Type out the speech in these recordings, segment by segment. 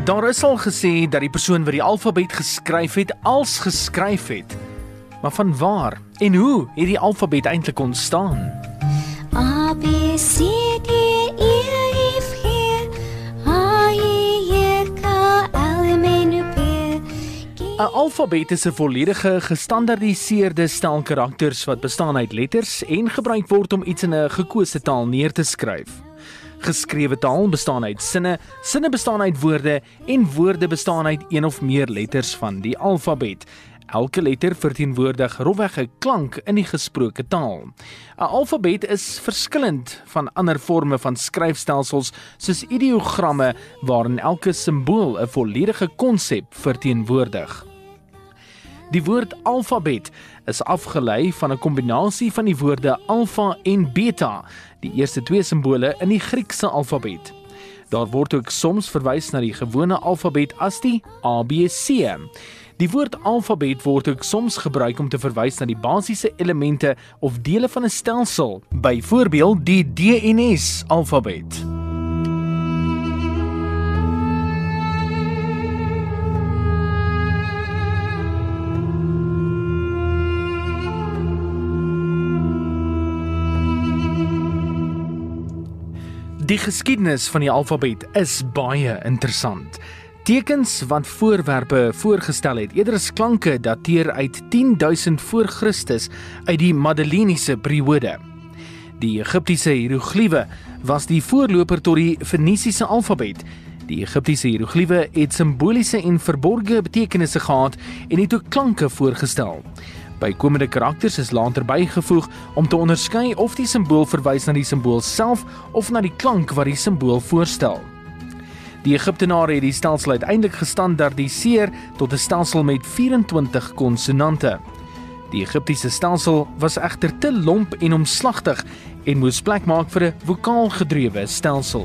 Daar is al gesê dat die persoon wat die alfabet geskryf het, als geskryf het. Maar van waar en hoe het die alfabet eintlik ontstaan? A, B, C, D, E, F, G, H, I, J, K, L, M, N, O, P, Q. 'n Alfabet is 'n volledige gestandaardiseerde stel karakters wat bestaan uit letters en gebruik word om iets in 'n gekose taal neer te skryf. Geskrewe taal bestaan uit sinne, sinne bestaan uit woorde en woorde bestaan uit een of meer letters van die alfabet. Elke letter verteenwoordig rofweg 'n klank in die gesproke taal. 'n Alfabet is verskillend van ander forme van skryfstelsels soos ideogramme waarin elke simbool 'n volledige konsep verteenwoordig. Die woord alfabet is afgelei van 'n kombinasie van die woorde alfa en beta, die eerste twee simbole in die Griekse alfabet. Daar word ook soms verwys na die gewone alfabet as die ABC. Die woord alfabet word ook soms gebruik om te verwys na die basiese elemente of dele van 'n stelsel, byvoorbeeld die DNS alfabet. Die geskiedenis van die alfabet is baie interessant. Tekens wat voorwerpe voorgestel het, eerder as klanke, dateer uit 10.000 voor Christus uit die Madeleniese periode. Die Egiptiese hierogliewe was die voorloper tot die Fenisiese alfabet. Die Egiptiese hierogliewe het simboliese en verborgde betekenisse gehad en het ook klanke voorgestel. Bykomende karakters is later bygevoeg om te onderskei of die simbool verwys na die simbool self of na die klank wat die simbool voorstel. Die Egiptenare het die stelsel uiteindelik gestandaardiseer tot 'n stelsel met 24 konsonante. Die Egiptiese stelsel was egter te lomp en omslagtig en moes plek maak vir 'n vokaalgedrewe stelsel.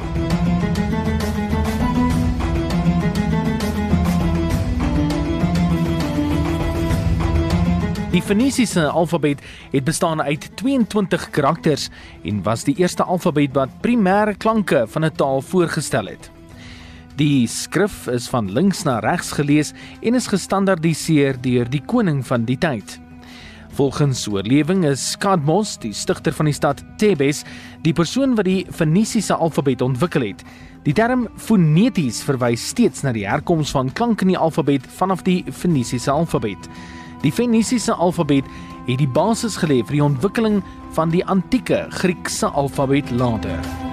Die Fenisiese alfabet het bestaan uit 22 karakters en was die eerste alfabet wat primêre klanke van 'n taal voorgestel het. Die skrif is van links na regs gelees en is gestandaardiseer deur die koning van die tyd. Volgens oorlewing is Kadmos, die stigter van die stad Thebes, die persoon wat die Fenisiese alfabet ontwikkel het. Die term foneties verwys steeds na die herkoms van klank in die alfabet vanaf die Fenisiese alfabet. Die Fenisiese alfabet het die basis gelê vir die ontwikkeling van die antieke Griekse alfabet later.